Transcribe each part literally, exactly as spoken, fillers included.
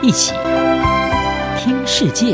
一起聽世界。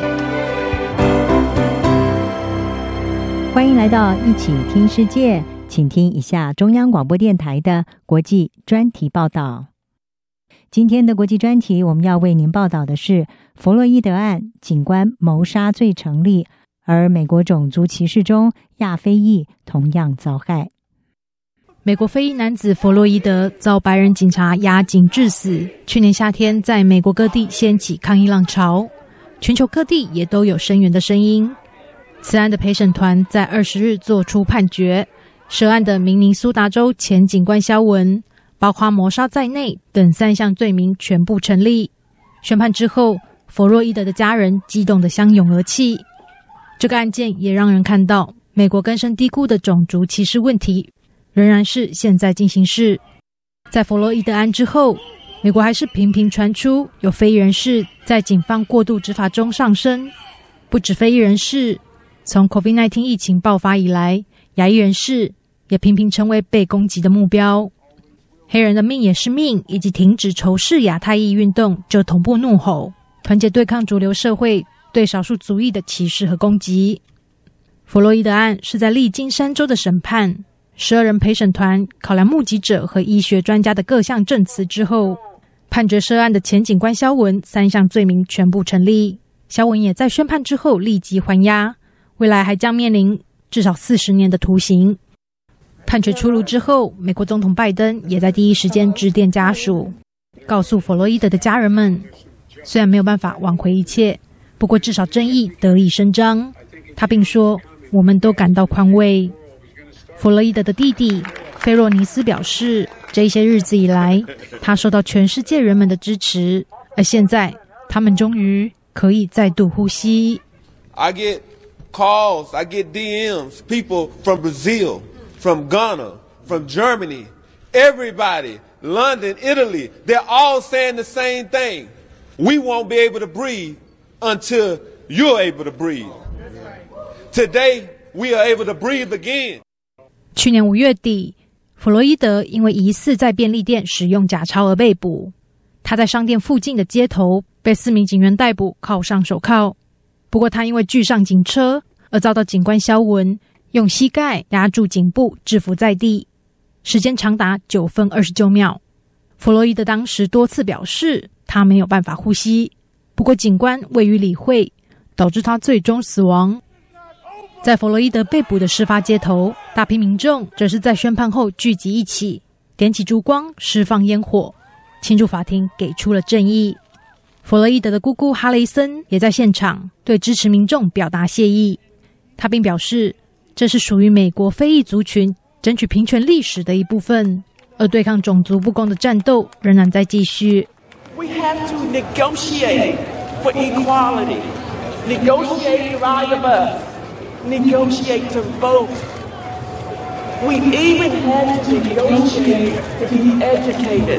歡迎來到一起聽世界，請聽一下中央廣播電臺的國際專題報道。今天的國際專題，我們要為您報道的是弗洛伊德案，警官謀殺罪成立，而美國種族歧視中亞非裔同樣遭害。 美國非裔男子弗洛伊德遭白人警察壓頸致死，去年夏天在美國各地掀起抗議浪潮，全球各地也都有聲援的聲音。此案的陪審團在二十日作出判決，涉案的明尼蘇達州前警官蕭文，包括謀殺在內等三項罪名全部成立。宣判之後，弗洛伊德的家人激動得相擁而泣。這個案件也讓人看到，美國根深蒂固的種族歧視問題仍然是現在進行式。在弗洛伊德案之後，美國還是頻頻傳出有非裔人士在警方過度執法中喪生。不止非裔人士，從 COVID 十九 疫情爆發以來，亞裔人士也頻頻成為被攻擊的目標。黑人的命也是命以及停止仇視亞太裔運動就同步怒吼，團結對抗主流社會對少數族裔的歧視和攻擊。弗洛伊德案是在歷經三周的審判，十二人陪審團考量目擊者和醫學專家的各項證詞之後，判決涉案的前警官蕭文三項罪名全部成立。蕭文也在宣判之後立即還押，未來還將面臨至少四十年的徒刑。判決出爐之後，美國總統拜登也在第一時間致電家屬，告訴弗洛伊德的家人們，雖然沒有辦法挽回一切，不過至少正義得以伸張。他並說，我們都感到寬慰。弗洛伊德的弟弟菲若尼斯表示，這些日子以來，他受到全世界人們的支持，而現在他們終於可以再度呼吸。 I get calls, I get D Ms, people from Brazil, from Ghana, from Germany, everybody, London, Italy, they're all saying the same thing. We won't be able to breathe until you're able to breathe. Today, we are able to breathe again. 去年五月底，弗洛伊德因為疑似在便利店使用假鈔而被捕。他在商店附近的街頭被四名警員逮捕，銬上手銬。不過他因為拒上警車，而遭到警官蕭文用膝蓋壓住頸部，制服在地，時間長達九分二十九秒。弗洛伊德當時多次表示他沒有辦法呼吸，不過警官未予理會，導致他最終死亡。在弗洛伊德被捕的事發街頭，大批民眾則是在宣判後聚集一起，點起燭光，釋放煙火，慶祝法庭給出了正義。弗洛伊德的姑姑哈雷森也在現場對支持民眾表達謝意，他並表示，這是屬於美國非裔族群爭取平權歷史的一部分，而對抗種族不公的戰鬥仍然在繼續。 We have to negotiate for equality, negotiate the right of us, negotiate to vote. We even had to negotiate to be educated.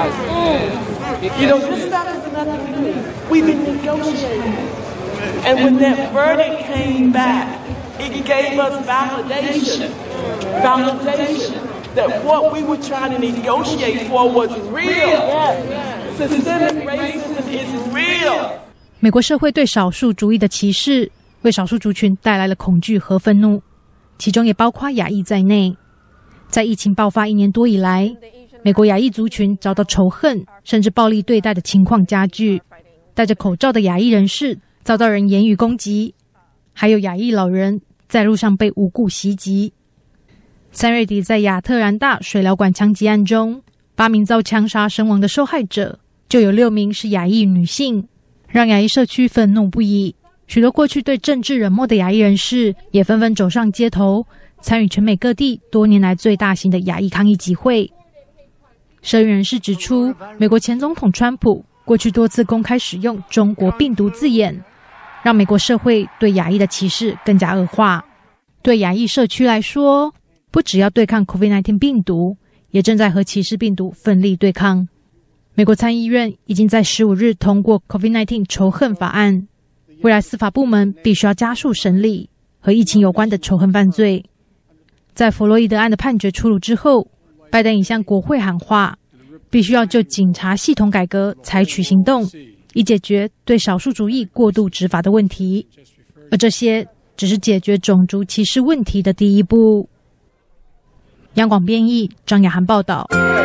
You know, this stuff is nothing new. We've been negotiating. And when that verdict came back, it gave us validation, validation that what we were trying to negotiate for was real. Systemic racism is real. 美國社會對少數族裔的歧視，為少數族群帶來了恐懼和憤怒，其中也包括亞裔在內。在疫情爆發一年多以來，美國亞裔族群遭到仇恨甚至暴力對待的情況加劇，戴着口罩的亞裔人士遭到人言語攻擊，還有亞裔老人在路上被無故襲擊。三月底，在亞特蘭大水療館槍擊案中，八名遭槍殺身亡的受害者，就有六名是亞裔女性，讓亞裔社區憤怒不已。許多過去對政治冷漠的亞裔人士也紛紛走上街頭，參與全美各地多年來最大型的亞裔抗議集會。社運人士指出，美國前總統川普過去多次公開使用中國病毒字眼，讓美國社會對亞裔的歧視更加惡化。對亞裔社區來說，不只要對抗 COVID 十九 病毒，也正在和歧視病毒奮力對抗。美國參議院已經在十五日通過 COVID 十九 仇恨法案，未來司法部門必須要加速審理和疫情有關的仇恨犯罪。在弗洛伊德案的判決出爐之後，拜登已向國會喊話，必須要就警察系統改革採取行動， 以解決對少數族裔過度執法的問題。而這些只是解決種族歧視問題的第一步。央廣編譯，張雅涵報道。